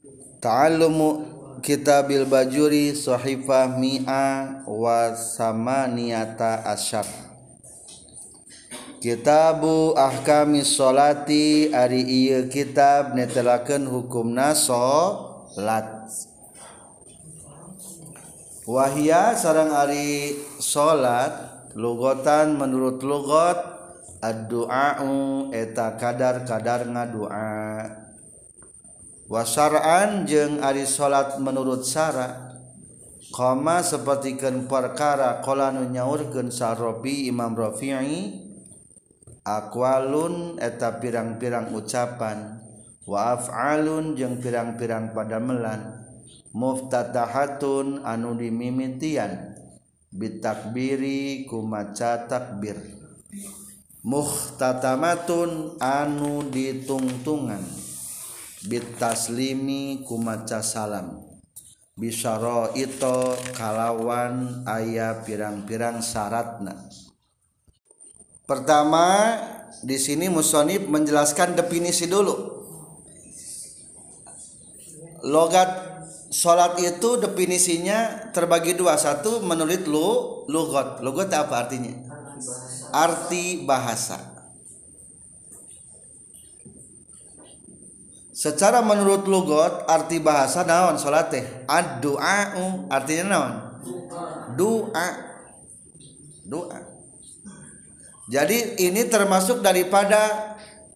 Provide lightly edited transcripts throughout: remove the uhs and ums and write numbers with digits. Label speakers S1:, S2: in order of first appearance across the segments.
S1: Ta'allumu kitabil bajuri sahifah mi'a wa samaniyata asyar. Kitabu ahkamis sholati ari ieu kitab netelakeun hukumna salat. Wahia sareng ari salat lugotan menurut lugot ad-du'a'u eta kadar-kadar ngadoa. Wasar'an jeung ari salat menurut syara koma sapertikeun perkara qala nu nyaurkeun Sarabi Imam Rafi'i aqwalun eta pirang-pirang ucapan wa af'alun jeung pirang-pirang padamelan muftatahatun anu dimimitian bitakbiri ku maca takbir muhtatamatun anu ditungtungan bitaslimi ku maca salam bisyara ito kalawan aya pirang-pirang syaratna. Pertama di sini musonib menjelaskan definisi dulu. Logat salat itu definisinya terbagi dua. Satu menurut lugot. Lugot apa artinya? Arti bahasa. Secara menurut lugot arti bahasa naon salat teh? Ad-du'a'u artinya naon? Doa. Jadi ini termasuk daripada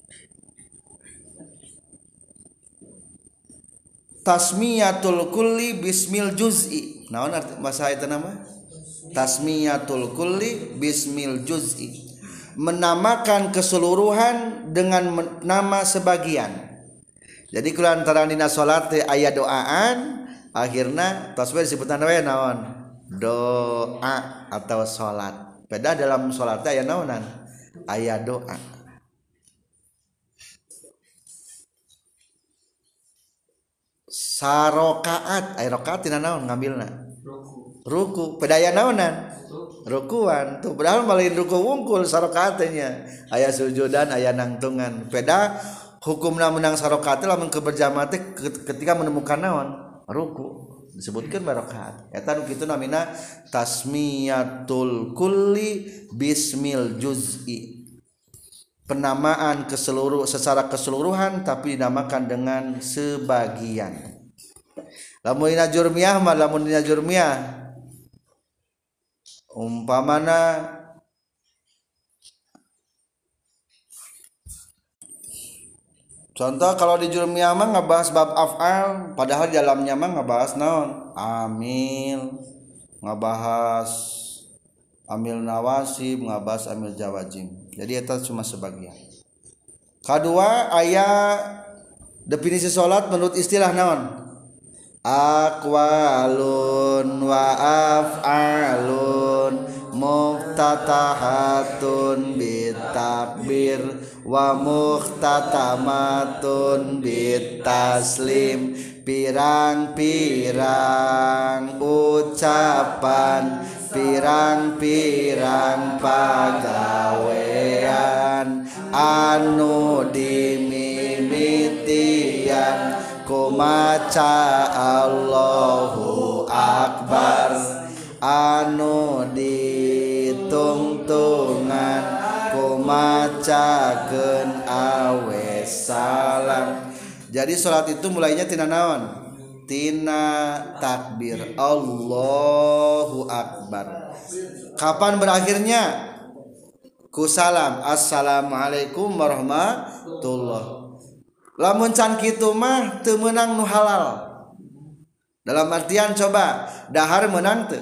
S1: tasmiyatul kulli bismil juz'i. Naon arti bahasa itu nama? Tasmiyatul kulli bismil juz'i. Menamakan keseluruhan dengan nama sebagian. Jadi kulantaran dina salat teh aya doaan, akhirna tasbih disebutan we naon? Doa atau salat. Beda dalam salat teh aya naonan? Aya doa. Sarokaat, aya rakaat tina naon ngambilna? Ruku. Beda aya naonan? Rukuan. Tuh padahal malin ruku wungkul sarokaat teh nya. Aya sujudan, aya nangtungan. Beda hukumna menang sarokaat lamun keberjamaah teh ketika menemukan naon ruku disebutkeun barakaat eta nu kitu namina tasmiyatul kulli bismil juz'i penamaan secara keseluruhan tapi dinamakan dengan sebagian. Lamun dina jurmiyah umpamana contoh kalau di jurmiyah mah ngebahas bab af'al, padahal dalamnya mah ngebahas naon? Amil, ngebahas amil nawasib, ngebahas amil jawazim. Jadi itu cuma sebagian. Kedua, aya definisi salat menurut istilah naon? Aqwalun wa af'alun muftatahatun bitakbir wa muhtatamatun bitaslim pirang-pirang ucapan pirang-pirang pagawean anu dimimitian kumaca Allahu Akbar anu ditungtungan kumacakeun awe salam. Jadi salat itu mulainya tina naon? Tina takbir Allahu Akbar. Kapan berakhirnya? Ku salam assalamualaikum warahmatullah. Lamun can kitu mah teu meunang nu halal. Dalam artian coba dahar meunang teu?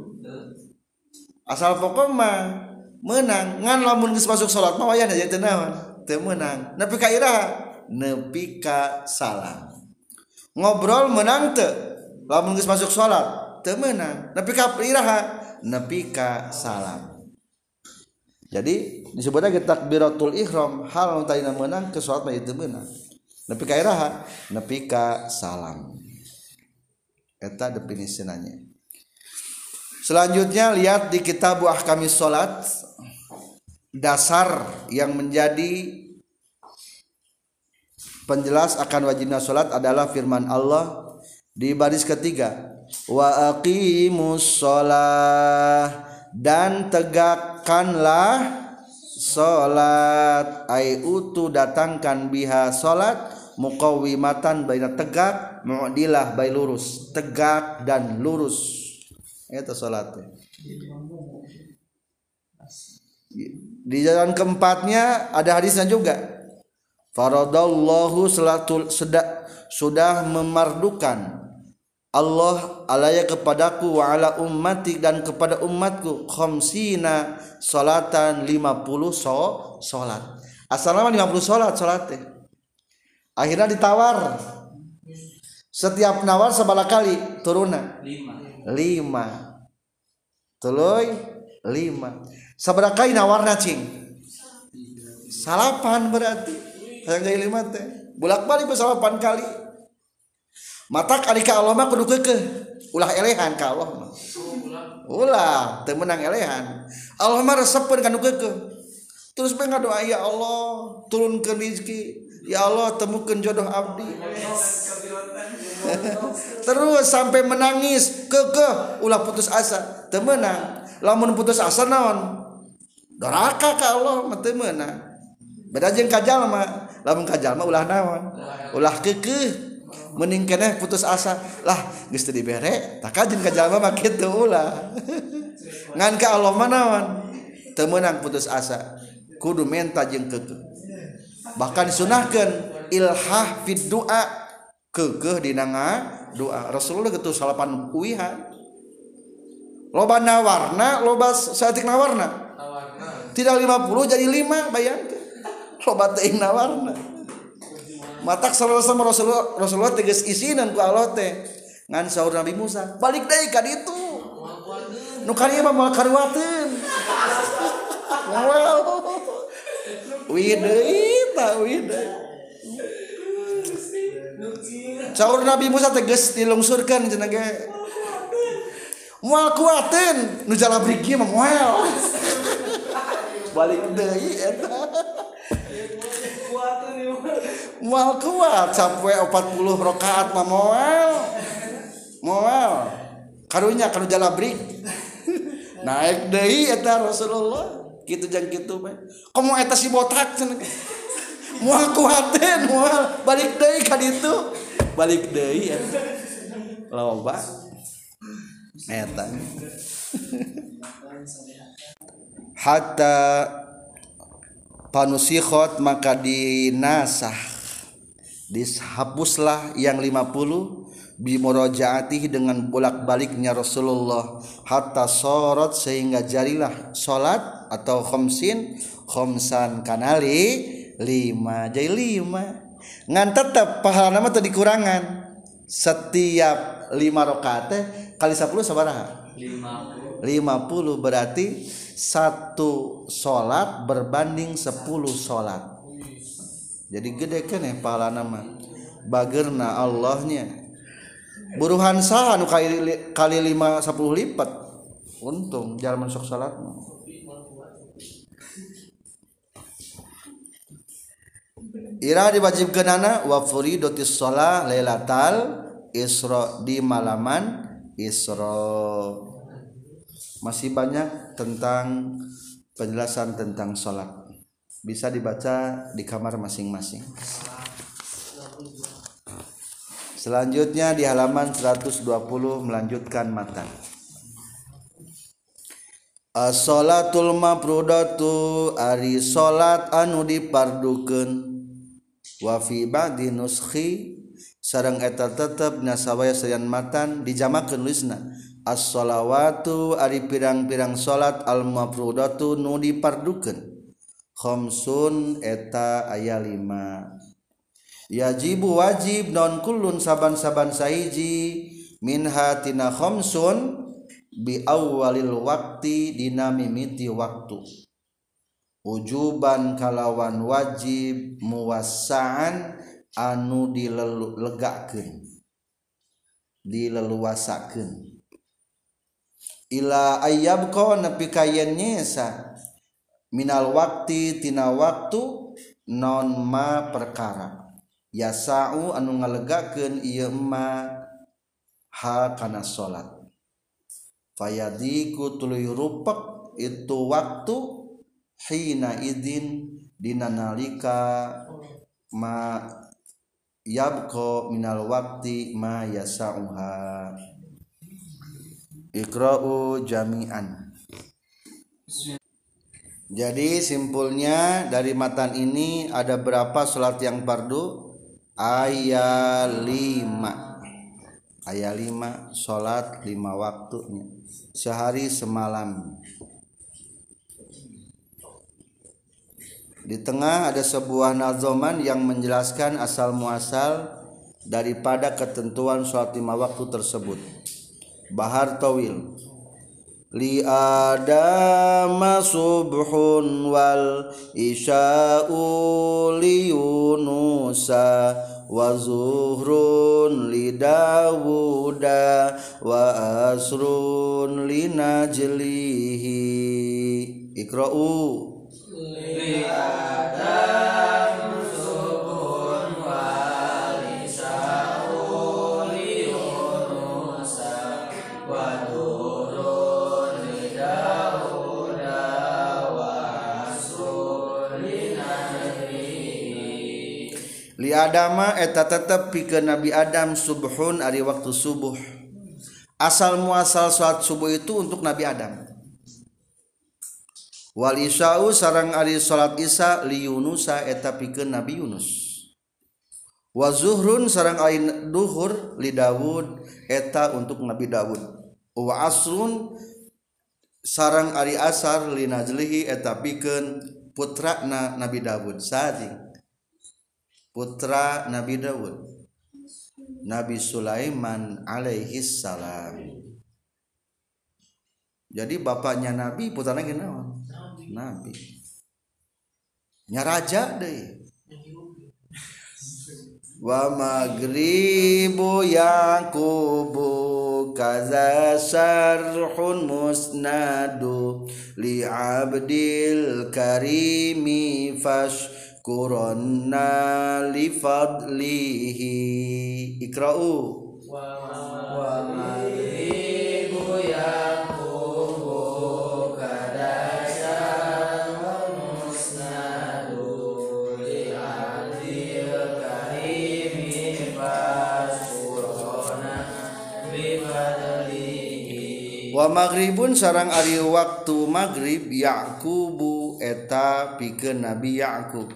S1: Asal pokok mah meunang. Ngan lamun geus masuk salat mah wayahna jadi teu naon? Teu meunang. Nepi ka iraha? Nepi ka salam. Ngobrol meunang teu? Lamun geus masuk salat teu meunang. Nepi ka iraha? Nepi ka salam. Jadi disebutna takbiratul ihram hal nu tadina meunang ke salat mah teu meunang. Nepi ka iraha? Nepi ka salam. Eta definisi nanya. Selanjutnya lihat di kitab ahkamis salat dasar yang menjadi Penjelas akan wajibnya salat adalah firman Allah di baris ketiga, wa aqimus shalah, dan tegakkanlah salat, ai utu datangkan biha salat, muqawwimatan baina tegak, mu'dilah bai lurus, tegak dan lurus eta salatnya. Di jalan keempatnya ada hadisnya juga, faradallahu sudah memardukan Allah alaya kepadaku wa ala ummati dan kepada umatku khamsina salatan 50 salat. Asalnya 50 salat teh. Akhirnya ditawar. Setiap nawar sabaraha kali turunna? 5. Tuluy 5. Sabaraha kali nawarna cing? 8 berarti. Hayang gaya 5 teh. Bolak-balik 8 kali. Matak ari ka Allah mah kudu keukeuh. Ulah elehan ka Allah mah. Ulah teu meunang elehan. Allah mah resepkeun kana keukeuh. Terus bae ngadoa, ya Allah turunkeun rezeki. Ya Allah temukeun jodoh abdi. Terus sampai menangis keukeuh ulah putus asa teu meunang. Lamun putus asa naon? Doraka ka Allah mah teu meunang. Beda jeung kajal mah, lamun kajal mah ulah naon? Ulah keukeuh. Mending keneh putus asa. Lah geus teu dibere, tak jeung kajal mah kitu ulah. Ngan ka Allah mah naon? Teu meunang putus asa. Kudu menta jeung keukeuh. Bahkan disunahkeun ilhah fid du'a, keukeuh dina ngadoa. Rasulullah kitu 8 uwihan. Loba nawarna, loba saeutik nawarna. Tidak 50 jadi 5, bayangkeun. Loba teuing nawarna. Matak sama Rasulullah tegas isinan ku Allah teh. Ngan saur Nabi Musa, balik deui ka ditu. Nu kalieu mah moal karuateun. Wow. Wideuy ta wideuy. Saur Nabi Musa tegas dilungsurkeun cenah ge. Moal kuateun, nu jalabrik ieu mah moal. Balik deui eta. Moal kuat sampai 40 rakaat mah moal karunya kanu jalabrik naik deui eta Rasulullah kitu jeung kitu bae komo eta si botak cenah moal kuateun moal balik deui ka ditu balik deui eta loba eta hatta panusikhot maka dinasah dihapuslah yang 50 bimurajaatih dengan bolak-baliknya Rasulullah hatta sorot sehingga jadilah salat atau khamsan kanali 5 jadi 5 ngan tetep pahala mah teu dikurangan setiap 5 rakaat teh kali 10 sabaraha 50 berarti 1 salat berbanding 10 salat. Jadi gede keneh pahalana mah. Bageurna Allahnya. Buruhan saha nu kali 5 10 lipat. Untung jalan sok salat mah. Ira diwajibkeunana wa furidatis shalah lailatal isra di malaman Isra. Masih banyak tentang penjelasan tentang sholat. Bisa dibaca di kamar masing-masing. Selanjutnya di halaman 120 melanjutkan matan. As-sholatul mafrudatu ari sholat anu dipardukeun wa fi ba'di nuskhi sareng eta tetep nasawaya sayan matan dijamakeun nulisna as-sholawatu ari pirang-pirang salat al-mafrudatu nu dipardukeun khamsun eta aya 5 yajibu wajib non kullun saban-saban sahiji minha tina khamsun bi awwalil waqti dina mimiti waktu wujuban kalawan wajib muwassa'an anu dilegakeun dileluasakeun ila ayyabqa nepi ka yen nyesa minal waqti tina waktu non ma perkara yasa'u anu ngalegakeun ieu ma ha kana salat fayadiku tuluy rupek itu waktu hina idin dina nalika ma yabqa minal waqti ma yasa'uha. Iqra'u jami'an. Jadi simpulnya dari matan ini ada berapa salat yang fardu? Ayat 5. Ayat 5 salat 5 waktunya sehari semalam. Di tengah ada sebuah nazoman yang menjelaskan asal muasal daripada ketentuan salat 5 waktu tersebut. Bahar Tawil. Li adama subhun wal isya'u li yunusa wa zuhrun li dawuda wa asrun li najlihi. Iqra'u li adama subhun wal isya'u li yunusa wa li adama eta tetep pikeun Nabi Adam subhun ari waktu subuh. Asal muasal salat subuh itu untuk Nabi Adam. Wal isya'u sareng ari salat isya li Yunusa eta pikeun Nabi Yunus. Wa zuhrun sareng ari duhur li Daud eta untuk Nabi Daud. Wa asrun sareng ari asar li najlihi eta pikeun putrana Nabi Daud. Sading putra Nabi Daud, Nabi Sulaiman alaihi salam. Jadi bapaknya Nabi, putranya gimana? Nabi. Nya raja deh. Wa magribu yaqubu kaza syarhun musnadu li abdil karimi fash Qur'anna li fadlihi. Iqra'u wa magribu yaqubu kadasya musnadu li adil karimi fasqurana li fadlihi. Wa maghribun sarang ari waktu maghrib Yaqubu eta pikeun Nabi Yaqub.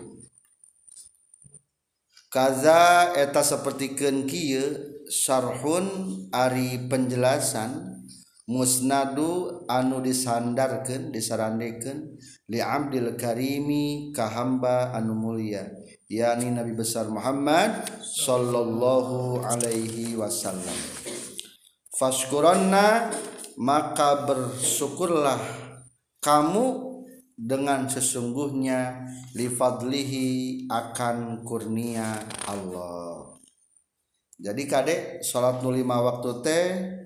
S1: Kaza eta sapertikeun kieu syarhun ari penjelasan musnadu anu disandarkeun disarandekeun li abdil karimi ka hamba anu mulia yakni Nabi besar Muhammad sallallahu alaihi wasallam. Fashkuranna maka bersyukurlah kamu dengan sesungguhnya li fadlihi akan kurnia Allah. Jadi kade salat 5 waktu teh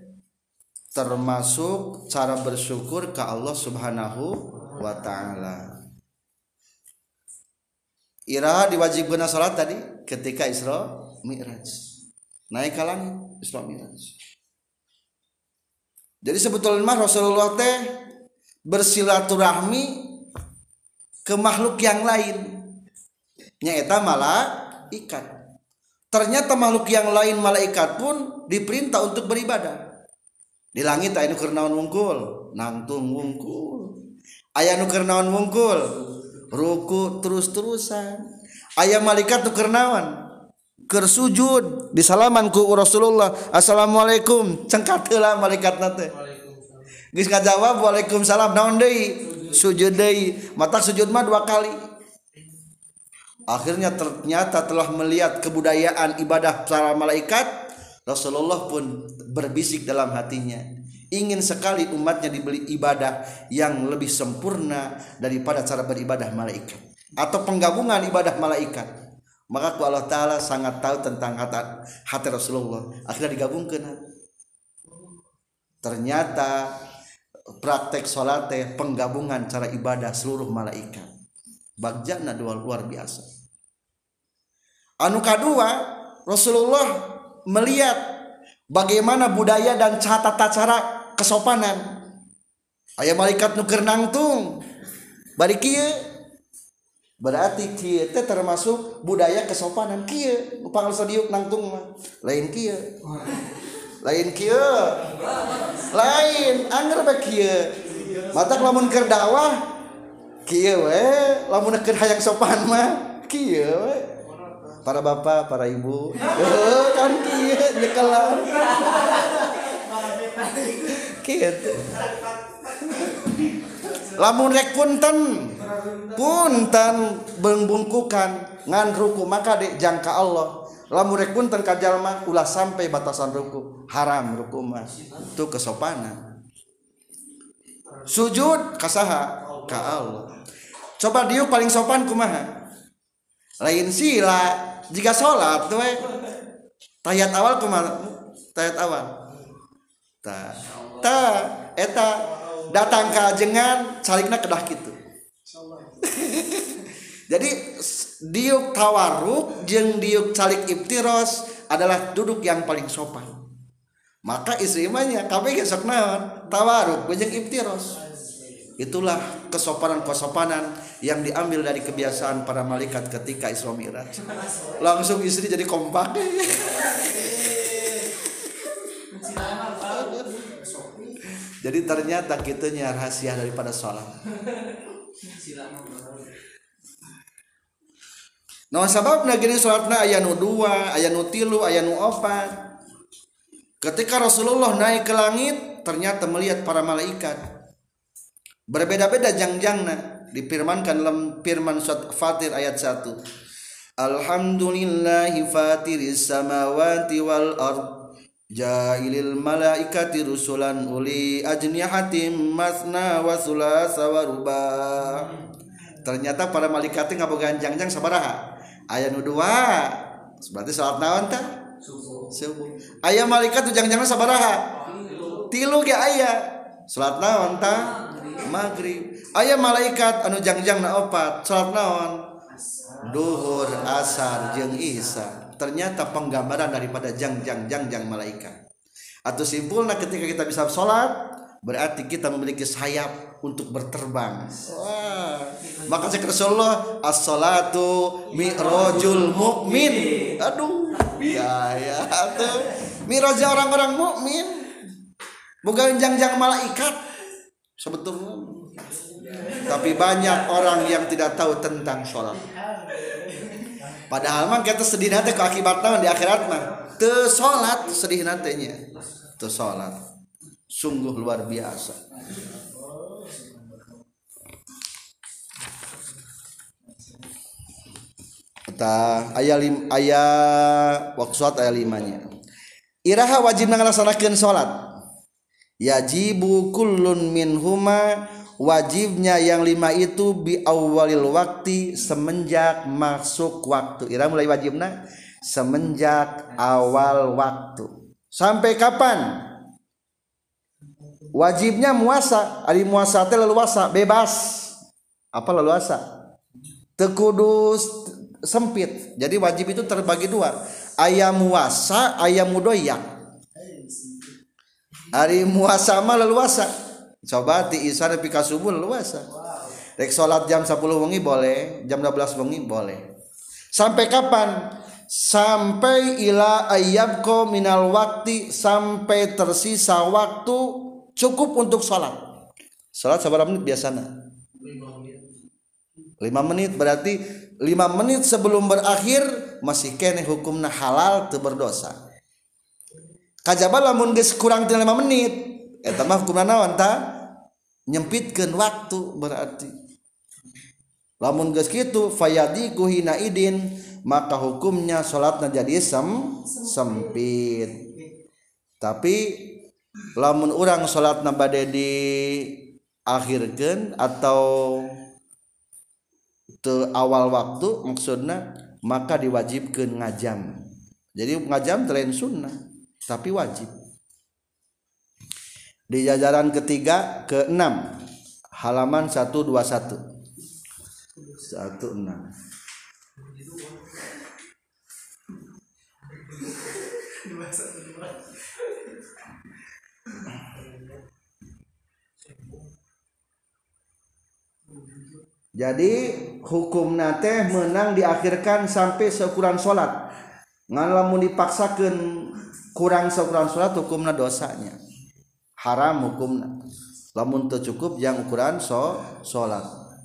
S1: termasuk cara bersyukur ke Allah Subhanahu wa taala. Iraha diwajibkeun salat tadi ketika Isra Mi'raj. Naik ka langit Isra Mi'raj. Jadi sebetulnya Rasulullah teh bersilaturahmi ke makhluk yang lain nyaeta malaikat. Ternyata makhluk yang lain malaikat pun diperintah untuk beribadah. Di langit aya nu keur naon wungkul, nangtung wungkul. Aya nu keur naon wungkul, ruku terus-terusan. Aya malaikat nu keur naon? Keur sujud, disalaman ku Rasulullah, assalamualaikum, cengkat heula malaikatna teh. Geus ngajawab waalaikumsalam, naon deui? Sujud deui. Mata sujud mah 2 kali. Akhirnya ternyata telah melihat kebudayaan ibadah para malaikat, Rasulullah pun berbisik dalam hatinya, ingin sekali umatnya diberi ibadah yang lebih sempurna daripada cara beribadah malaikat atau penggabungan ibadah malaikat. Maka Allah Ta'ala sangat tahu tentang hati Rasulullah. Akhirnya digabungkan. Ternyata praktek salat teh penggabungan cara ibadah seluruh malaikat. Bagjana luar biasa. Anu kadua, Rasulullah melihat bagaimana budaya dan tata cara kesopanan. Aya malaikat nu keur nangtung bari kieu, berarti kieu teh termasuk budaya kesopanan. Kieu nu pangal sadiuk nangtung mah lain kieu, lain kieu, lain angger bae kieu. Matak lamun keur dakwah kieu we, lamun keur hayang sopan mah kieu we. Para bapak, para ibu, kan kieu nyekelan. Kieu. Lamun rek punten bengkungkukan ngan ruku maka dek jangka Allah. Lamun rek punten ka jalma ulah sampai batasan ruku, haram ruku mah. Itu kesopanan. Sujud ka saha? Ka Allah. Coba dieu paling sopan kumaha? Lain sila jika salat we. Tahiyat awal kumaha? Tahiyat awal. Eta datang ke ajengan salikna kedah kitu. Jadi diuk tawarruk jeung diuk salik iftiros adalah duduk yang paling sopan. Maka istri manya kabeh ge sok naon? Tawarruk jeung iftiros. Itulah kesopanan-kesopanan yang diambil dari kebiasaan para malaikat ketika Isra Mi'raj. Langsung istri jadi kompak. Jadi ternyata kitunya rahasia daripada sholat. Nah sababna gini sholatna aya nu 2, aya nu 3, aya nu 4. Ketika Rasulullah naik ke langit, ternyata melihat para malaikat. Berbeda-beda jangjangna, difirmankan dalam firman surat Fatir ayat 1. Alhamdulillahi fatiris samawati wal ardh Ja'ilil malaikati rusulan uli ajnihatim masna wa sulasa wa ruba. Ternyata para malaikat ngabogaan jangjang sabaraha? Aya nu 2. Berarti salat naon tah? Subuh. Aya malaikat tu jangjangna sabaraha? 3 ge aya. Salat naon tah? Maghrib. Aya malaikat anu jangjangna 4. Salat naon? Duhur, asar jeung isya. Ternyata penggambaran daripada jangjang malaikat. Atau simpulnya ketika kita bisa sholat, berarti kita memiliki sayap untuk berterbang. Wah. Maka kata Rasulullah, as-salatu mi'rajul mu'min. Aduh, ya tuh. Mi'raj orang-orang mukmin. Bukan jangjang malaikat sebetulnya. Tapi banyak orang yang tidak tahu tentang sholat. Padahal mah kita sedih nanti ke akibat naon di akhirat mah teu salat sedih nantinya teu salat sungguh luar biasa. Eta aya waqsat aya 5-nya. Iraha wajib ngalaksanakeun salat. Yajibu kullun minhuma, wajibnya yang 5 itu bi awalil waktu, semenjak masuk waktu. Ira mulai wajibna semenjak awal waktu. Sampai kapan? Wajibnya muasa. Ari muasa teh leluasa, bebas. Apa leluasa? Teu kudu sempit. Jadi wajib itu terbagi 2. Aya muasa, aya mudoyak. Ari muasa mah leluasa. Coba ti isya nepi ka subuh leluasa. Rek salat jam 10 wengi boleh, jam 12 wengi boleh. Sampai kapan? Sampai ila ayyabqa minal waktu, sampai tersisa waktu cukup untuk salat. Salat sabar menit biasana? 5 menit. Berarti 5 menit sebelum berakhir masih kene hukumna halal teu berdosa. Kajaba lamun geus kurang 5 menit, eta mah hukumna naon tah? Nyempitkeun waktu berarti. Lamun geus kitu fayadiku hina idin, maka hukumnya salatna jadi sempit. Tapi lamun urang salatna bade diakhirkeun atau teu awal waktu maksudna, maka diwajibkeun ngajam. Jadi ngajam lain sunnah tapi wajib. Di jajaran ketiga ke-6 halaman 121 16. Jadi hukum nate menang diakhirkan sampai seukuran sholat. Ngan lamun dipaksakan kurang seukuran sholat hukumna dosanya haram hukumna. Lamun teu cukup yang ukuran sholat.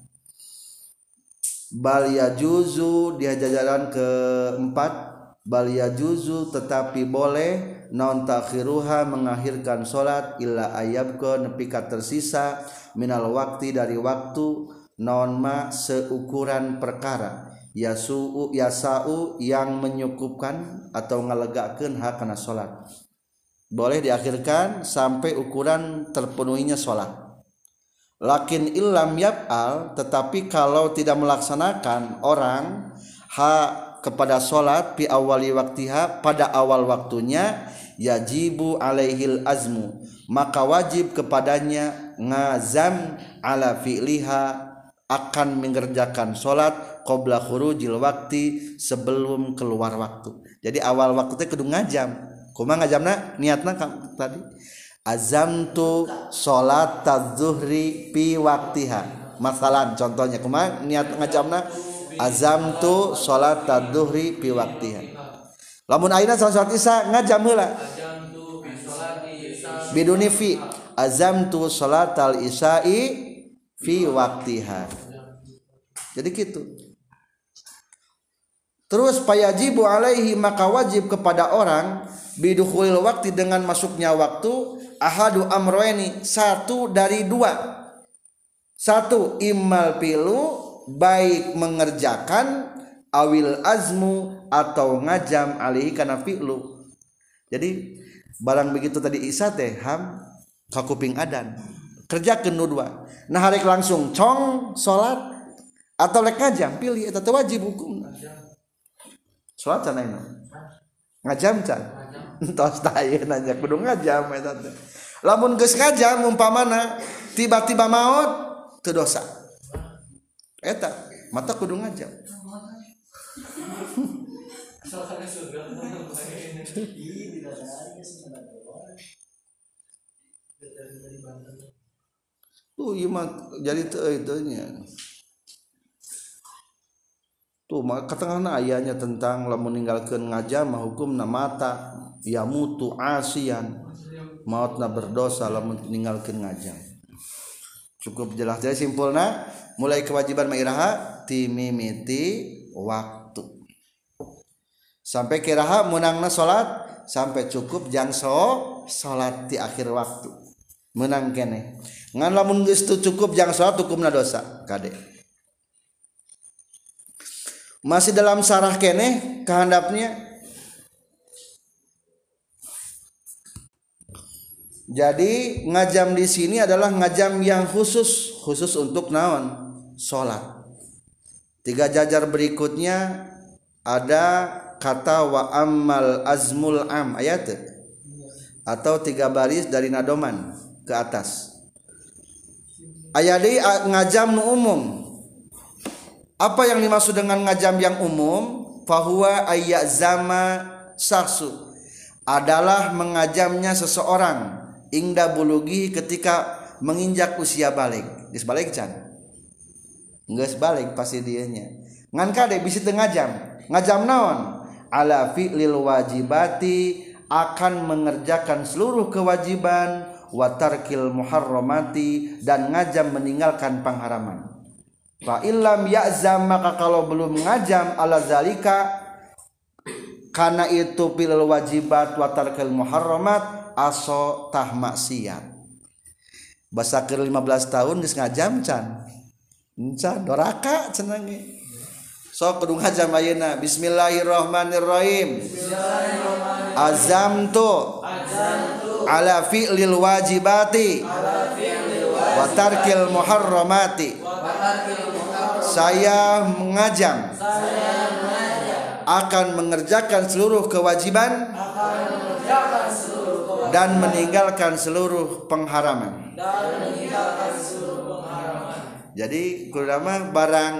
S1: Bal yajuzu dia jajaran keempat. Bal yajuzu tetapi boleh naon takhiruha mengakhirkan sholat illa ayyabqa nepi ka tersisa minal waktu dari waktu naon ma seukuran perkara yasau yang menyukupkan atau ngalegakeun hakana salat. Boleh diakhirkan sampai ukuran terpenuhinya salat. Lakin illam yaf'al tetapi kalau tidak melaksanakan orang kepada salat fi awali waktiha pada awal waktunya yajibu alaihil azmu maka wajib kepadanya ngazam ala fi'liha akan mengerjakan sholat qabla khurujil waktu sebelum keluar waktu. Jadi awal waktu teh kudu ngajam. Kumaha ngajamna? Niatna tadi azamtu sholat adzuhri fi waktiha. Masalan contohnya kumaha niat ngajamna? Azamtu sholat adzuhri fi waktiha. Lamun ayeuna salat isya ngajam heula. Biduni fi azamtu sholatal isya'i fi waktiha. Jadi gitu. Terus payajibu alaihi maka wajib kepada orang bidukhulil waktu dengan masuknya waktu ahadu amroeni satu dari dua. Satu immal pilu baik mengerjakan awil azmu atau ngajam alaihi kana fi'lu. Jadi barang begitu tadi isya teh ham kakuping adan. Kerjakeun nu dua. Nah harek langsung cong salat atau lek ngajam pilih eta teh wajib hukum. Salat can ayeuna. Ngajam can. Entos tah ayeuna nya kudu ngajam eta teh. Lamun geus ngajam umpamana tiba-tiba maot teu dosa. Eta mata kudu ngajam. Iya mah jadi itunya. Tuh maka tengahna ayatnya tentang lamun ninggalkeun ngajam hukumna mata ya mutu asian mautna berdosa lamun ninggalkeun ngajam. Cukup jelas jadi simpulna mulai kewajiban mairaha ti mimiti waktu. Sampai kiraha menangna salat sampai cukup jang salat di akhir waktu. Menang kene. Ngan lamun geus teu cukup jang salat hukumna dosa kade. Masih dalam sarah kene kehendapnya. Jadi ngajam di sini adalah ngajam yang khusus untuk naon? Salat. 3 jajar berikutnya ada kata wa ammal azmul am ayat atau 3 baris dari nadoman ke atas. Ayat ini ngajam nu umum. Apa yang dimaksud dengan ngajam yang umum? Fahuwa ayyazama saksu adalah mengajamnya seseorang ingda bulugi ketika menginjak usia balik. Geus balik can? Geus balik pasti dianya. Ngan kade bisi teu ngajam naon? Ala fi'lil wajibati akan mengerjakan seluruh kewajiban wa tarkil muharramati dan ngajam meninggalkan pengharaman. Fa illam ya'zam maka kalau belum ngajam ala zalika karena itu pilal wajibat wa tarkil muharramat aso tah maksiat. Basa keur 15 tahun geus ngajam can. Can doraka cenah ge. Sok kudu ngajam ayeuna. Bismillahirrahmanirrahim. Azamtu ala fi'lil wajibati wa tarkil muharramati. Saya mengajam akan mengerjakan seluruh kewajiban dan meninggalkan seluruh pengharaman. Jadi kurama barang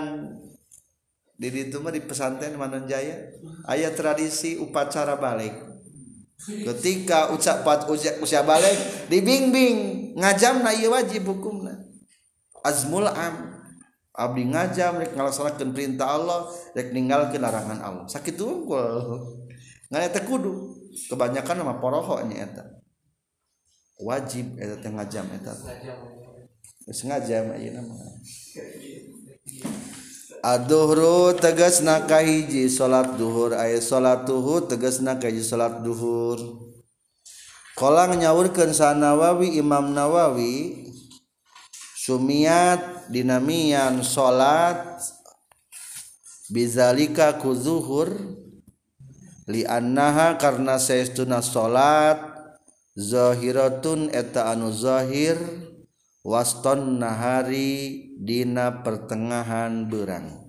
S1: di ditu mah di pesantren Manunjaya aya tradisi upacara balik. ketika usia balik dibimbing ngajamna ieu wajib hukumna azmul am abdi ngajam rek ngalaksanakeun perintah Allah rek ninggalkeun larangan Allah sakitu unggul ngan eta kudu kebanyakan mah poroho nya eta wajib eta teh ngajam eta geus ngajam ayeuna mah ad-duhru tegasna kahiji salat duhur aya salat duhur tegasna kahiji salat duhur qala nyaurkeun sa Nawawi Imam Nawawi sumiat dinamian salat bizalika ku zuhur li annaha karna saestuna salat zahiratun eta anu zahir waston nahari dina pertengahan beurang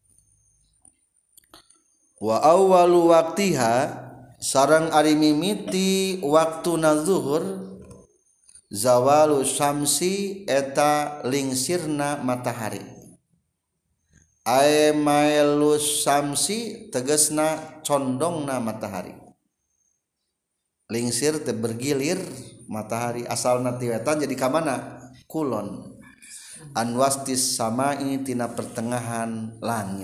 S1: wa awwalu waqtiha sareng ari mimiti waktuna zuhur zawalu syamsi eta lingsirna matahari ay mailus syamsi tegasna condongna matahari lingsir teh bergilir matahari asalna ti wetan jadi ka mana kulon anwastis samai tina pertengahan langit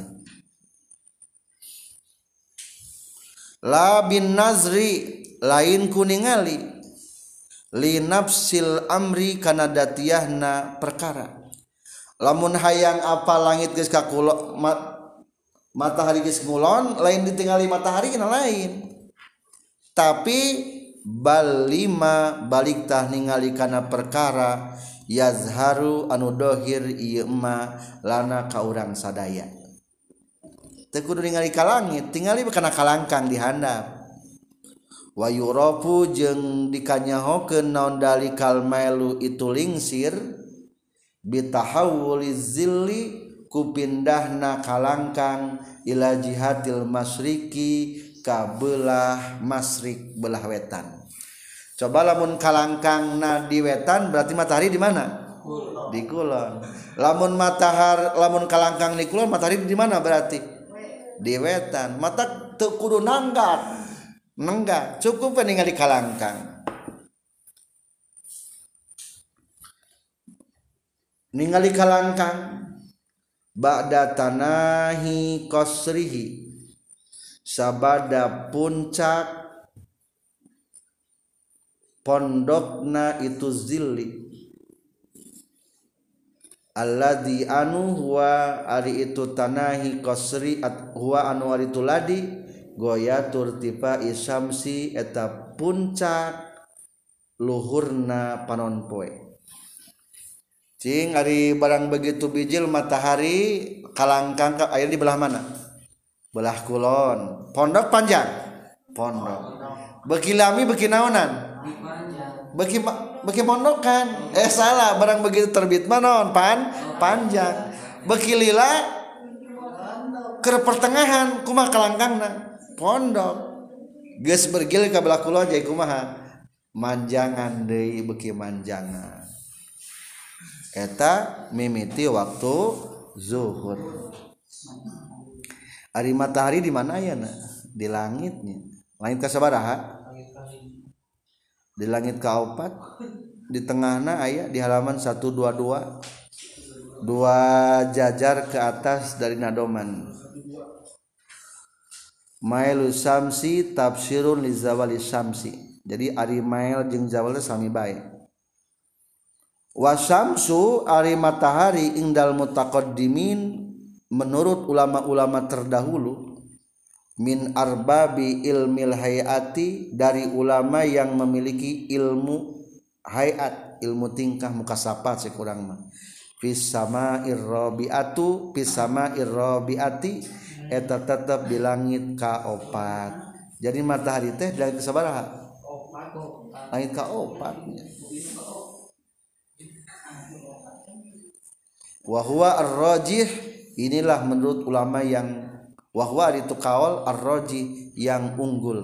S1: la bin nazri lain kuningali li nafsil amri kana datiyahna perkara lamun hayang apa langit geus ka kulon matahari geus ngulon lain ditingali matahari kana lain tapi bal lima balik tah ningali kana perkara yazharu anu dohir ieu ma lana ka urang sadaya teu kudu ningali ka langit tingali kana kalangkang di handap wa yurafu jeung dikanyahokeun naon dalikal mailu itu lingsir bitahawuliz zilli ku pindahna kalangkang ila jihatil masriki ka belah masrik belah wetan coba lamun kalangkangna di wetan berarti matahari di mana di kulon lamun kalangkang di kulon matahari di mana berarti di wetan mata teu kudu nanggat nenggak cukup ningali kalangkang ningali kalangkang ba'da tanahi qasrihi sabada puncak pondokna itu zilli alladzi anu huwa ari itu tanahi qasri huwa anu ari itu ladi goyatur tipa isamsi eta puncak luhurna panon poe cing ari barang begitu bijil matahari kalangkang aya di belah mana belah kulon pondok panjang pondok beki lami beki naonan beki mondokan salah barang begitu terbit manon panjang beki lila ke pertengahan kumaha kalangkangna pondok geus bergil ka belah kulon jadi kumaha manjangan deui beki manjangan eta mimiti waktu zuhur ari matahari di mana ayana di langitnya langit ka sabaraha di langit ka 4 di tengahna aya di halaman 122 dua jajar ke atas dari nadoman mailu samsi tafsirun li zawali samsi jadi ari mail jeung zawal sami bae wa syamsu ari matahari indal mutaqaddimin menurut ulama-ulama terdahulu min arbabi ilmil hayati dari ulama yang memiliki ilmu hayat ilmu tingkah muka sapa sekurang mah fis sama'ir rabiatu fis sama'ir rabiati eta tetap di langit ka-4 jadi matahari teh di langit sabaraha langit ka-4 wa huwa ar-rajih inilah menurut ulama yang wa huwa itu kaul ar-rajih yang unggul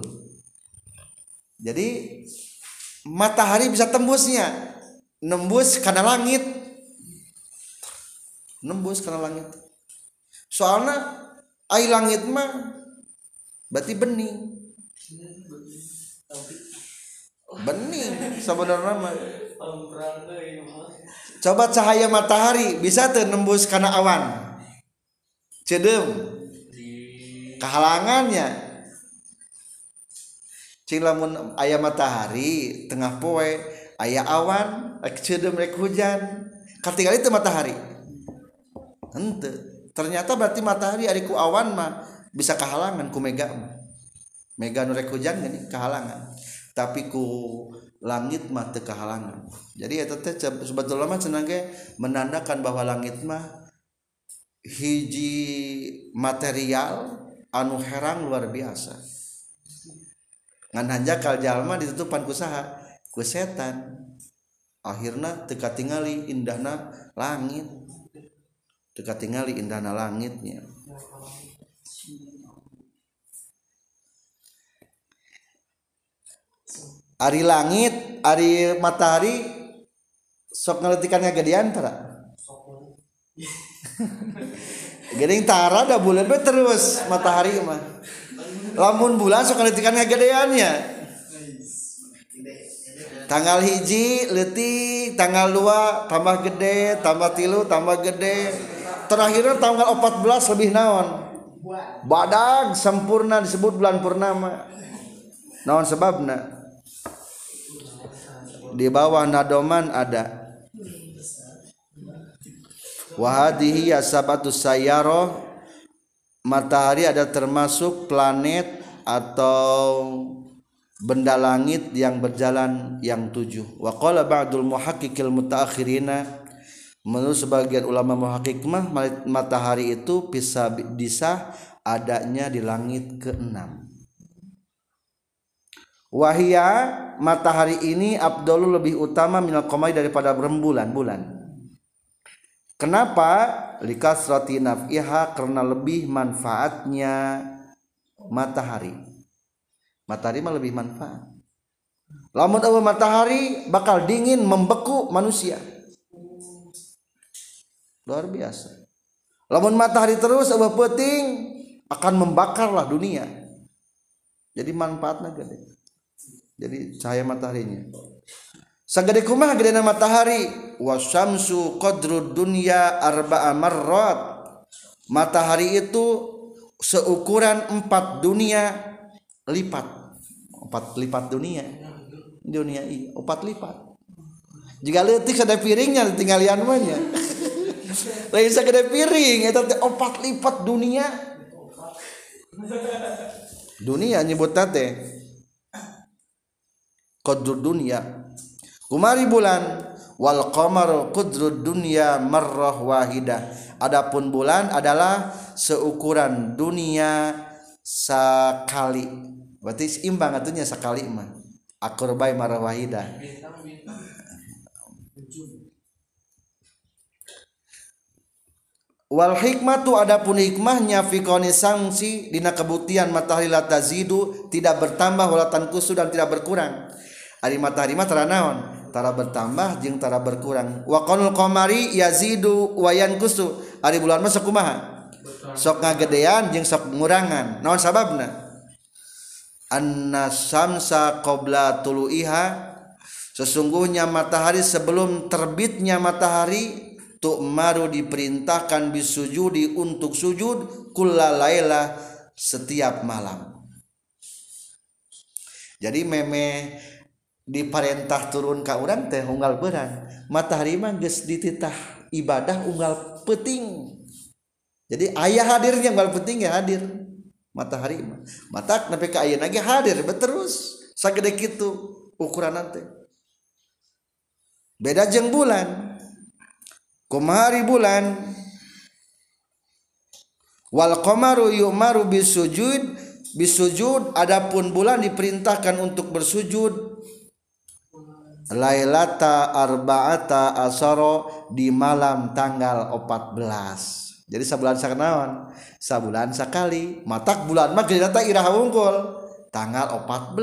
S1: jadi matahari bisa tembusnya nembus kana langit soalna ai langit mah berarti bening bening sebenarnya mah. Coba cahaya matahari bisa teu nembus kana awan cedeum kehalangannya. Cing lamun aya matahari tengah poe aya awan rek cedeum rek hujan katingali teu matahari henteu. Ternyata berarti matahari ari ku awan mah bisa kehalangan ku mega nu rek hujan gini kehalangan, tapi ku langit mah teu kehalangan. Jadi eta teh sebetulna mah cenah ge menandakan bahwa langit mah hiji material anu herang luar biasa. Ngan hanjakal jalma ditutupan ku saha? Ku setan. Akhirna teu katingali indahna langit. Teu katingali indahna langitnya. Ari langit, ari matahari sok ngeletikan ngagedean tara. Geuning tara da bulan we terus matahari mah. Lamun bulan sok ngeletikan ngagedeannya. Tanggal hiji leutik, tanggal 2 tambah gede, tambah 3 tambah gede. Terakhirnya tanggal 14 lebih naon? Badag sempurna disebut bulan purnama. Naon sebabna? Di bawah nadoman ada wahadihi asabatus sayyarah, matahari ada termasuk planet atau benda langit yang berjalan yang 7. Wa qala ba'dul muhaqqiqil mutaakhirina, menurut sebagian ulama muhaqqiq mah matahari itu bisa adanya di langit ke-6. Wahia, matahari ini afdalul lebih utama minal qamari daripada rembulan bulan. Kenapa? Likasrati naf'iha, karena lebih manfaatnya matahari. Matahari mah lebih manfaat. Lamun eueuh matahari bakal dingin membeku manusia. Luar biasa. Lamun matahari terus eueuh peuting akan membakarlah dunia. Jadi manfaatnya gede. Jadi cahaya mataharinya sagede kumaha gedena matahari. Wasyamsu qadrud dunya arba'a marrat, matahari itu seukuran 4 dunia lipat. 4 lipat dunia iya 4 lipat. Jika leutik sada piringnya tingalian mah nya lain sagede piring eta teh 4 lipat dunia nyebutna teh qadrud dunya kumari bulan. Wal qamaru qadrud dunya marrah wahidah, adapun bulan adalah seukuran dunia sekali. Berarti imbang atunya sekali mah akurbai marrah wahidah. Wal hikmatu, adapun hikmahnya fi qauni samsi, dina kebuktian matahari la tazidu, tidak bertambah wala tanqusu, dan tidak berkurang. Ari matahari mah tara naon? Tara bertambah jeung tara berkurang. Wa qaulul qamari yazidu wa yanqusu, ari bulan mah sok kumaha? Sok ngagedean jeung sok ngurangan. Naon sababna? Anna samsa qabla tuluiha, sesungguhnya matahari sebelum terbitnya matahari tu'maru diperintahkan bisujudi untuk sujud kullalaila setiap malam. Jadi meme diperintah turun ka urang teh unggal beurang, matahari mah geus dititah ibadah unggal peuting. Jadi aya hadirnya unggal peuting ya hadir matahari mah. Matak nepi ka ayeuna ge hadir terus sagede kitu ukuran teh. Beda jeung bulan. Kumari bulan wal qamaru yu'maru bisujud, adapun bulan diperintahkan untuk bersujud lailata arba'ata asaro, di malam tanggal 14. Jadi sabulan sakanaon? Sabulan sakali. Matak bulan mah geuna teh iraha wungkul tanggal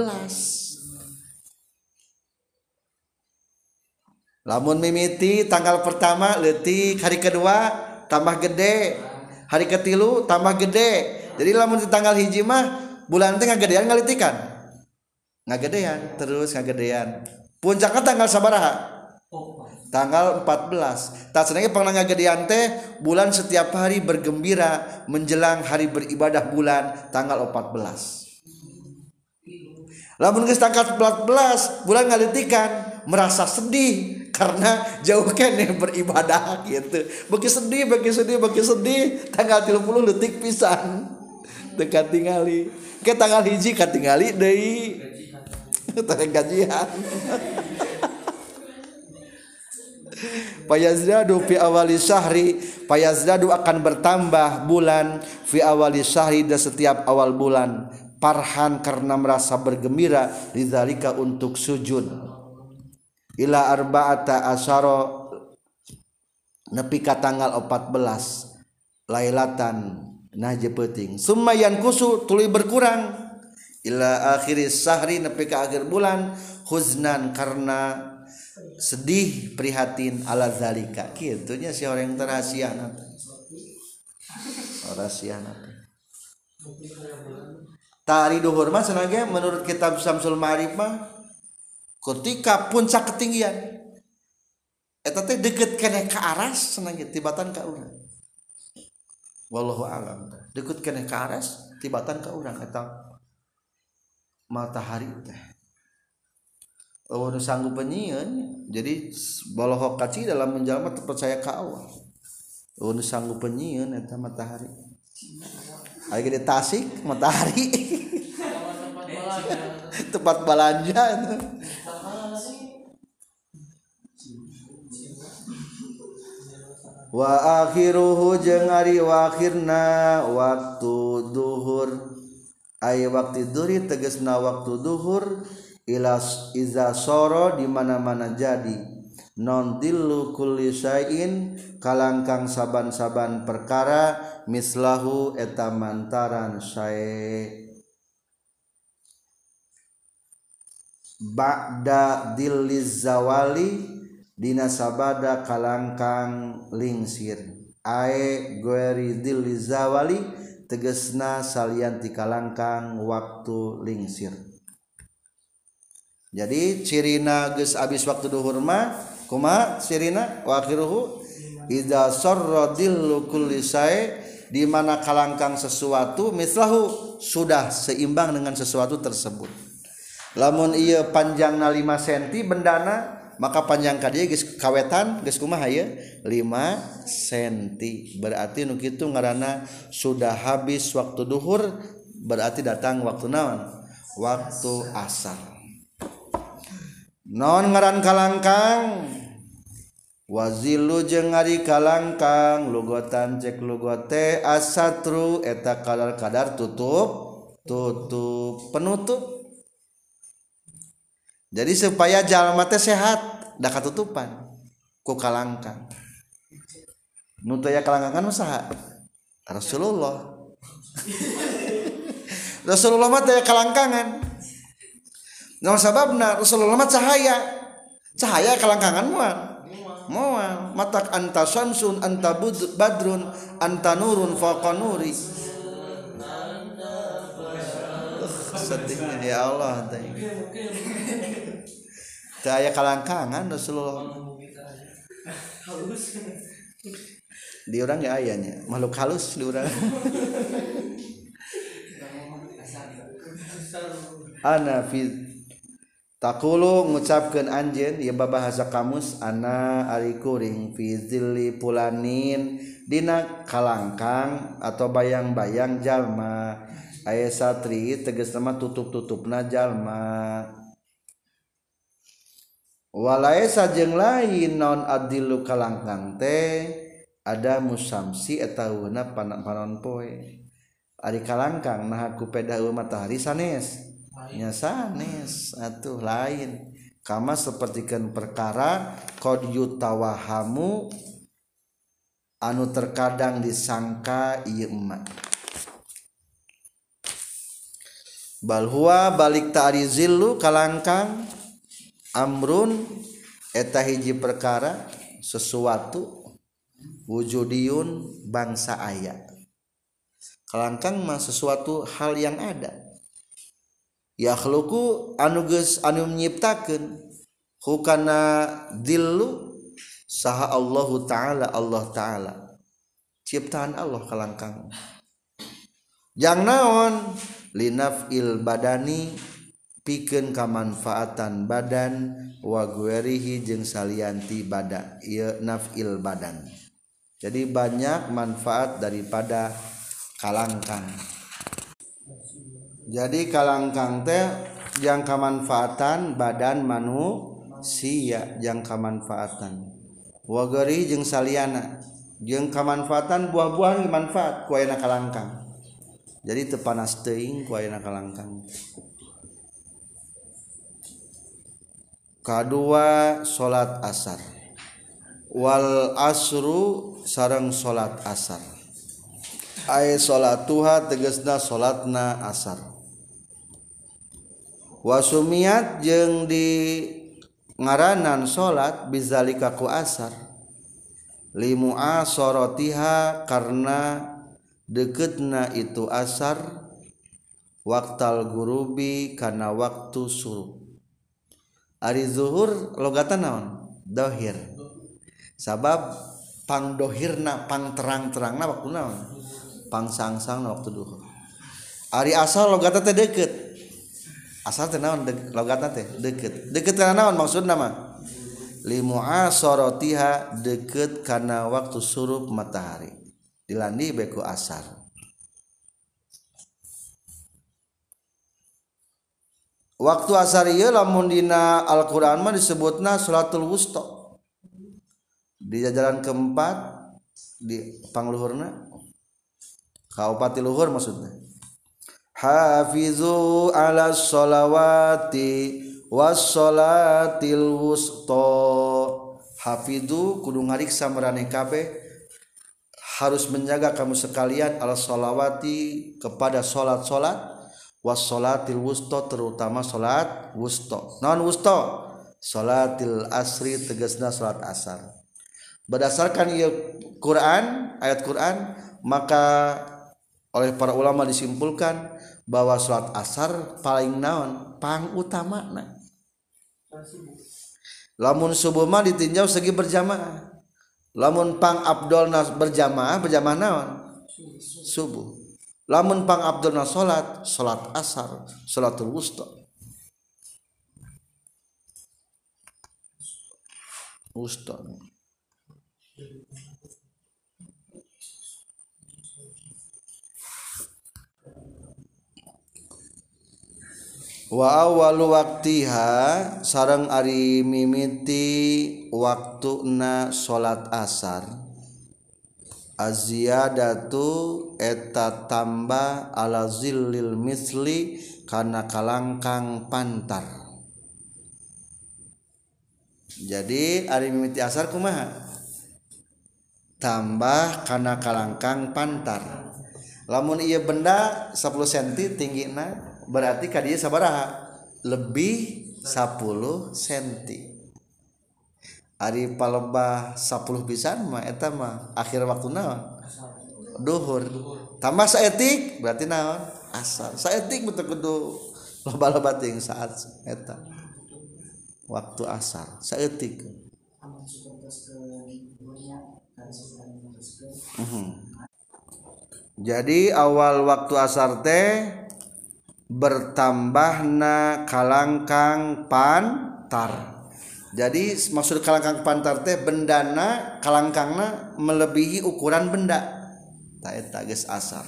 S1: 14. Lamun mimiti tanggal pertama leutik, hari kedua tambah gede, hari ketilu tambah gede. Jadi lamun di tanggal hiji mah bulan teh ngagedean ngalitikan. ngagedean terus ngagedean puncaknya tanggal sabaraha tanggal 14 tak senangnya pernah ngagedean teh bulan setiap hari bergembira menjelang hari beribadah bulan tanggal 14 lamun geus tanggal 14 bulan ngalitikan merasa sedih karena jauh keneh beribadah gitu bagi sedih tanggal 30 detik pisan teu katingali ke tanggal hiji katingali deui teh gajian Fayazdadu fi awali syahri fayazdadu akan bertambah bulan fi awali syahri dan setiap awal bulan parhan karena merasa bergembira lidzalika untuk sujud ila arba'ata asyara nepi ka tanggal 14 lailatan nah jepeuting summa yankusu tuluy berkurang ila akhiris syahri nepi ka akhir bulan huznan karena sedih prihatin ala zalika kitu nya si orang terasiana rasiana tari duhur mah cenah ge menurut kitab Syamsul Ma'arif mah ketika puncak ketinggian eta teh deukeut keneh ka aras cenah ge tibatan ka urang wallahu alam deukeut keneh ka aras tibatan ka urang eta matahari teh nu sanggup penyieun jadi bolohok kaci dalam menjalma terpercaya ka Allah nu sanggup penyieun eta matahari aya di Tasik matahari tempat belanja itu wa akhiruhu jeung ari wakhirna waktu duhur aya waktu duhur tegasna waktu duhur ilas iza soro di mana-mana jadi non dillu kulli syai'in kalangkang saban-saban perkara mislahu eta mantaran sae ba'da dilliz zawali dina sabada kalangkang lingsir ae gueri dilliz zawali tegesna salianti kalangkang waktu lingsir. Jadi cirina geus abis waktu duhur mah kumaha cirina wa akhiruhu idza sarra dillu kulli syai di mana kalangkang sesuatu mislahu sudah seimbang dengan sesuatu tersebut. Lamun ieu panjangna 5 cm bendana maka panjang ka dieu geus kawetan geus kumaha ieu 5 cm berarti nu kitu ngaranna sudah habis waktu duhur berarti datang waktu naon waktu asar. Non ngaran kalangkang wazilu jeung ari kalangkang lugotan cek lugote asatru eta kadar tutup penutup. Jadi supaya jalma teh sehat da katutupan ku kalangkang. Nu teu aya kalangkangan saha? Rasulullah. Rasulullah mah teu aya kalangkangan. Nah sababna Rasulullah mah cahaya kalangkangan moal matak anta syamsun anta badrun anta nurun faqa nuri sedihnya ya Allah cahaya kalangkangan Rasulullah di orang ya ayahnya makhluk halus di orang ana fi takulu ngucapkeun anjeun ieu babahasa kamus ana ari kuring fi zilli pulanin dina kalangkang atau bayang-bayang jalma aya satri tegasna mah tutup-tutupna jalma walaesa jeung lain naon adillu kalangkang teh ada musamsi eta euna panon poe ari kalangkang nah ku peda matahari sanes nya sanes atuh lain kama sapertikeun perkara qad yutawahamu anu terkadang disangka ieu emak bal huwa balik ta'ri zillu kalangkang amrun eta hiji perkara sesuatu wujudiyun bangsa aya kalangkang mah sesuatu hal yang ada yakhluqu anu geus anu nyiptakeun hukana dillu saha Allahu taala Allah taala ciptaan Allah kalangkang jang naon linafil badani pikeun kamanfaatan badan wa guerihi jeung salianti badan ieu nafil badan jadi banyak manfaat daripada kalangkang jadi kalangkang teh yang kamanfaatan badan manusia yang kamanfaatan wa guerihi jeung saliana jeung kamanfaatan buah-buahan manfaat ku ayeuna kalangkang jadi teu panas teuing ku ayeuna kalangkang. Kadua salat asar wal asru sareng salat asar ay salatuha tegasna salatna asar wasumiat jeung di ngaranan salat bizalika ku asar limu'asaratiha karena deketna itu asar waktal gurubi kana waktu surup ari zuhur logatan naon dohir sabab pang dohirna pang terang-terangna waktu naon pang sangsangna waktu duhur ari asar logatan teh deukeut asar teh naon logatan teh deukeut kana naon maksudna mah limu'asaratiha deukeut kana waktu surup matahari dilandi beku asar waktu asar ieu lamun dina Al-Qur'an mah disebutna salatul wusta di jajaran keempat di pangluhurna kaopati luhur maksudna hafizu ala sholawati was sholatil wusta hafizu kudu ngariksa marane kabeh harus menjaga kamu sekalian ala sholawati kepada salat-salat wassolatil wusta terutama salat wusta naon wusta salatil asri tegasna salat asar berdasarkan ieu Quran ayat Quran maka oleh para ulama disimpulkan bahwa salat asar paling naon pang utamana lamun subuh mah ditinjau segi berjamaah lamun pang abdolna berjamaah naon subuh lamun pang abdulna salat asar salatul wusta wa awwalu waqtiha sareng ari mimiti waktuna salat asar aziyadatu eta tambah ala zillil misli kana kalangkang pantar jadi ari mimiti asar kumaha tambah kana kalangkang pantar lamun ieu benda 10 cm tinggina berarti ka dieu sabaraha lebih 10 cm ari palebah 10 pisan mah eta mah akhir waktu naon duhur tambah saeutik berarti naon asar saeutik betul kudu loba-loba ting saat eta waktu asar saeutik jadi awal waktu asar teh bertambahna kalangkang pantar. Jadi maksud kalangkang pantar teh bendana kalangkangna melebihi ukuran benda. Ta eta geus asar.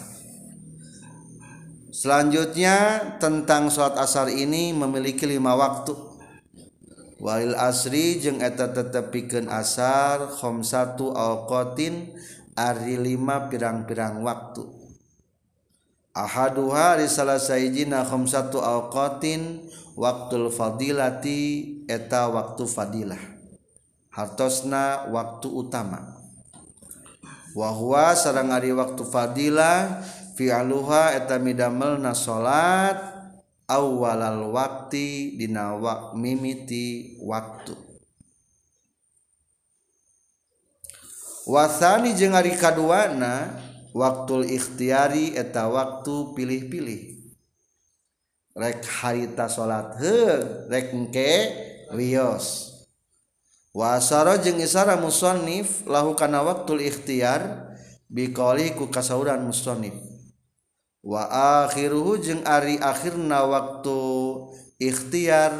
S1: Selanjutnya tentang salat asar ini memiliki 5 waktu. Walil asri jeung eta tetepikeun asar khamsatu awqatin ari 5 pirang-pirang waktu. Ahaduha risalah sayjina khamsatu awqatin waktul fadilati eta waktu fadilah hartosna waktu utama wa huwa sareng ari waktu fadilah fi'aluha eta midamelna salat awwalal waqti dina mimiti waktu wasani jeung ari kaduana waktul ikhtiyari eta waktu pilih-pilih rek harita salat rek engke wios. Wa asara jeung isara musannif lahu kana waqtul ikhtiyar biqauli ku kasauran musannif. Wa akhiruhu jeung ari akhirna waktu ikhtiyar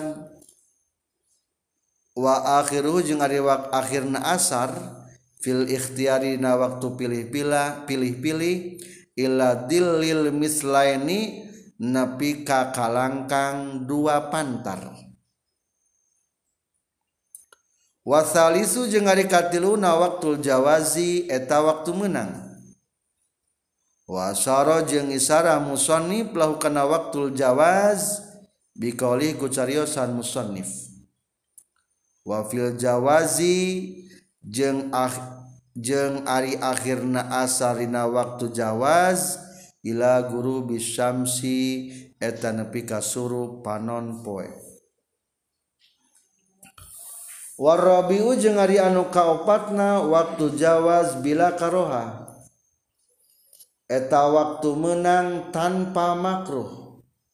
S1: wa akhiruhu jeung ari akhirna asar fil ikhtiyari na waktu pilih-pilih ila dillil mislaini napi ka kalangkang dua pantar. Wa salisu jeung ari katiluna waktul jawazi eta waktu meunang. Wa asyara jeung isara musannif lahu kana waktul jawaz biqauli ku cariosan musannif. Wa fil jawazi jeung ari akhirna asarina waktu jawaz ila guru bisyamsi eta nepi ka surup panon poe. Warabiu jeung ari anu kaopatna waktu jawaz bila karoha eta waktu menang tanpa makruh.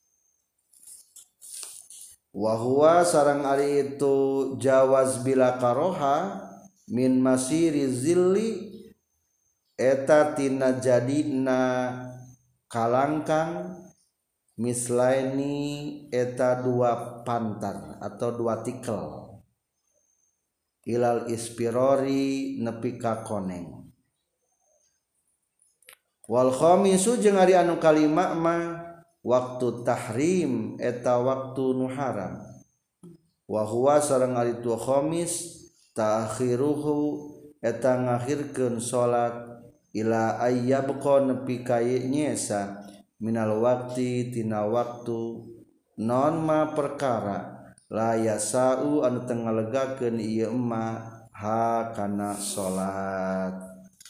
S1: Wa huwa sareng ari itu jawaz bila karoha min masiri zilli eta tina jadina kalangkang mislaini eta dua pantar atau dua tikel ilal ispirori nepi ka koneng. Wal khamisu jeung ari anu kalima mah waktu tahrim eta waktu nu haram. Wa huwa sareng ari tu khamis ta'khiruhu eta ngakhirkeun salat ila ayyabqa nepi ka nyesa minal waqti tina waktu non ma perkara la yasau anu teu ngalegakeun ieu ma ha kana salat.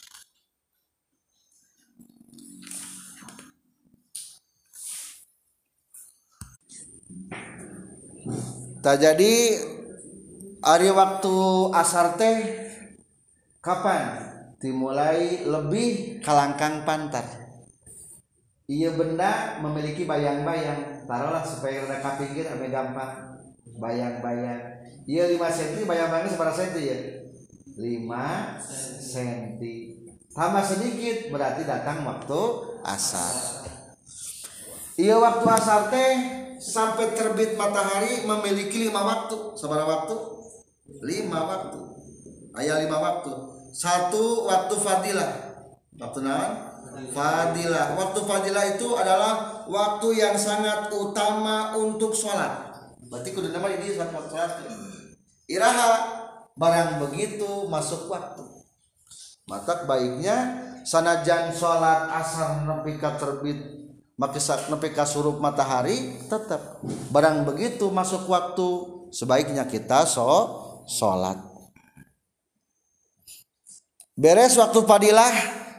S1: Tak jadi ari waktu asar teh kapan dimulai lebih kalangkang pantar. Ieu benda memiliki bayang-bayang, taruhlah supaya rada ka pinggir ame gampang bayang-bayang. Ieu 5 cm bayang-bayangna sabaraha senti ya? 5 cm. Tambah sedikit berarti datang waktu asar. Ieu waktu asar teh sampai terbit matahari memiliki 5 waktu. Sabaraha waktu? 5 waktu. Aya 5 waktu. 1 waktu fadilah. Waktu naon? Fadilah. Waktu fadilah itu adalah waktu yang sangat utama untuk sholat. Berarti kudu nama ini sholat. Iraha barang begitu masuk waktu. Maka baiknya sanajan sholat asar nepi ka terbit nepi ka surup matahari tetap barang begitu masuk waktu sebaiknya kita sholat. Beres waktu fadilah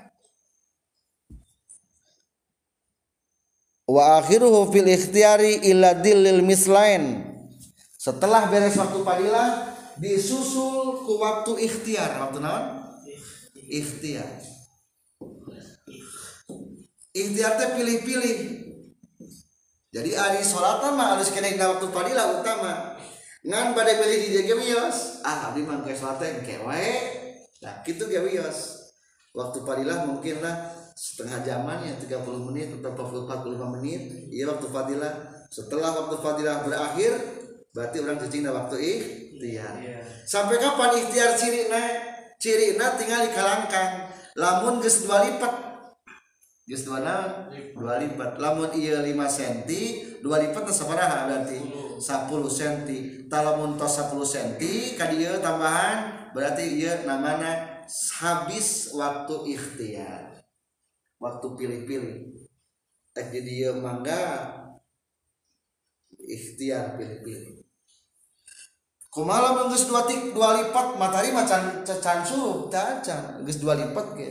S1: wa akhiruhu fil ikhtiyari illa dillil mislain. Setelah beres waktu fadilah disusul ku waktu ikhtiar. Waktu naon? Ikhtiar. Ikhtiar teh pilih-pilih. Jadi ari salat mah harus kena dina waktu fadilah utama. Ngan bade pilih di jaga wios. Abdi mah geus salat teh engke wae. Nah, kitu ge wios. Waktu fadilah mungkinlah setengah jaman ya 30 menit atau 45 menit. Iya waktu fadilah. Setelah waktu fadilah berakhir berarti orang cicingna waktu ikhtiar. Sampai kapan ikhtiar cirina? Cirina tinggal di kalangkang. Lamun geus 2 lipat. Geus 2 lipat. Lamun ieu 5 cm, 2 lipat teh sabaraha berarti? 10 cm. Talamun tos 10 cm ka dieu tambahan berarti ieu namana habis waktu ikhtiar. Waktu pilih-pilih. Tak jadi ieu mangga ikhtiar pilih-pilih. Kumaha lamun geus 2 lipat matahari macan suruh tah can geus 2 lipat ge.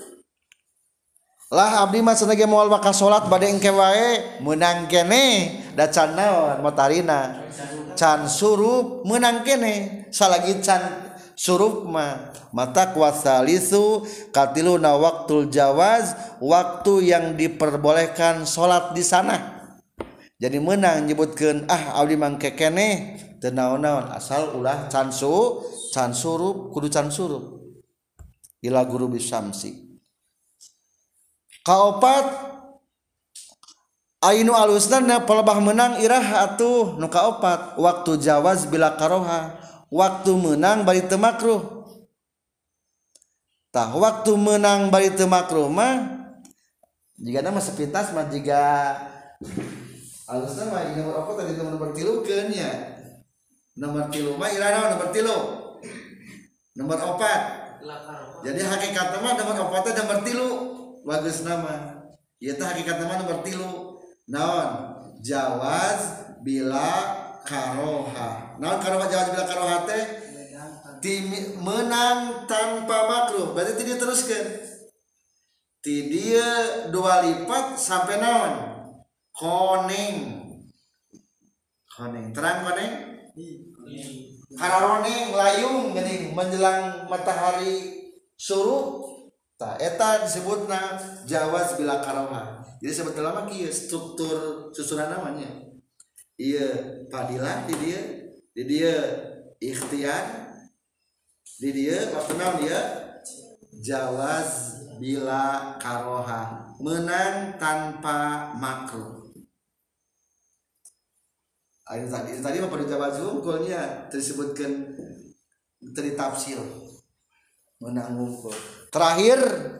S1: Lah abdi mah cenah ge moal bakal salat bade engke wae meunang keneh da can naon matarina can surup meunang keneh salagi can surup mah mata kuasalisu katiluna waktul jawaz waktu yang diperbolehkan salat di sana jadi menang nyebutkeun abdi mangke keneh teu naon-naon asal ulah can surup kudu can surup ila guru bisamsi. Kaopat ainu alusna palebah menang irah atuh nu kaopat waktu jawaz bila karoha waktu menang bari teu makruh. Tah waktu menang bari teu makruh mah jigana mah sepintas mah jiga alusna mah nomor apa tadi nomor 3 keun nya. Nomor 3 mah irah naon nomor 3. Nomor 4. Jadi hakikatna mah nomor 4 teh nomor 3 bagusna mah. Ieu teh hakikatna mah nomor 3. Naon? Jawaz bila karoha. Naon karoha jawaz bila karoha teh? Menang tanpa makruh. Berarti teu diteruskeun. Ti dieu 2 lipat sampai naon? Koneng. Terang koneng? Kararoneng layung geuning menjelang matahari surup. Tah eta disebutna jawaz bila karoha. Jadi sebetulnya mah kieu struktur susunan namanya. Ieu fadilah di dieu ikhtiar di dieu waktu naon dia jawaz bila karoha menang tanpa makruh. Ayo tadi mah pada jawaz wungkulnya disebutkan dari tafsir menang wungkul. Terakhir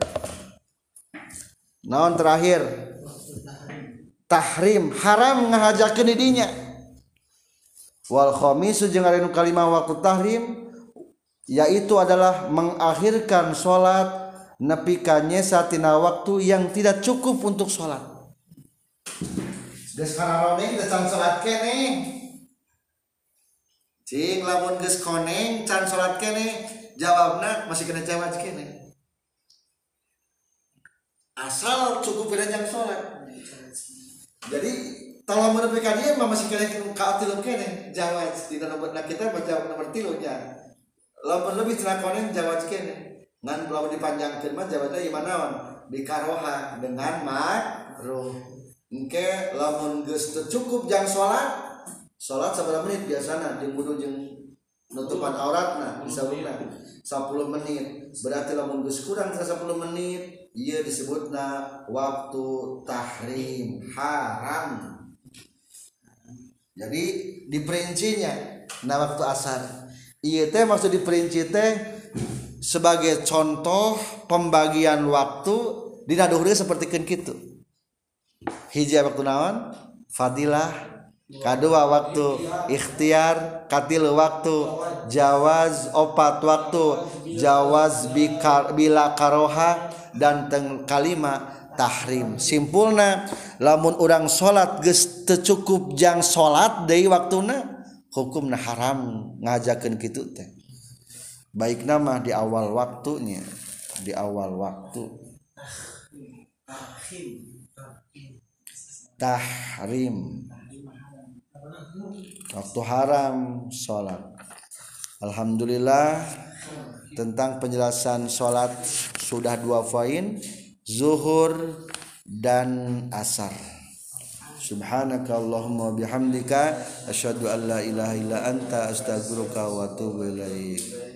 S1: naon terakhir tahrim haram ngahajakeun di dinya. Wal khamisu jeung ari nu kalima waktu tahrim yaitu adalah mengakhirkan salat nepi ka nyesa tina waktu yang tidak cukup untuk salat. Geus kararoneng teh can salat keneh. Cing lamun geus koneng can salat keneh jawabna masih kena jawab keneh. Asal cukup beranjang salat. Jadi kalau menepi ka dieu mah masih kena ka tilu keneh jawaz di nomor kita baca nomor 3 nya. Lamun lebih cenah koneng jawaz keneh. Ngan lamun dipanjangkeun mah jawazna ieu naon? Dikaroha dengan makruh. Engke lamun geus teu cukup jang salat sabaraha menit biasana jeung wudu jeung nutupan auratna disebutna 10 menit. Berarti lamun geus kurang 10 menit ieu disebutna waktu tahrim haram. Jadi diperincinya na waktu asar. Ieu teh maksud diperinci teh sebagai contoh pembagian waktu dina duhur sapertikeun kitu. Hiji waktu naon? Fadilah. Kadua waktu ikhtiar, katilu waktu jawaz, opat waktu jawaz bila karoha dan kalima tahrim. Simpulna lamun urang salat geus teu cukup jang salat deui waktuna hukumna haram ngajakeun kitu teh. Baikna mah di awal waktunya, di awal waktu. Tahrim waktu haram salat. Alhamdulillah tentang penjelasan salat sudah 2 poin, zuhur dan asar. Subhanakallahumma bihamdika asyhadu an la ilaha illa anta astaghfiruka wa atubu ilaik.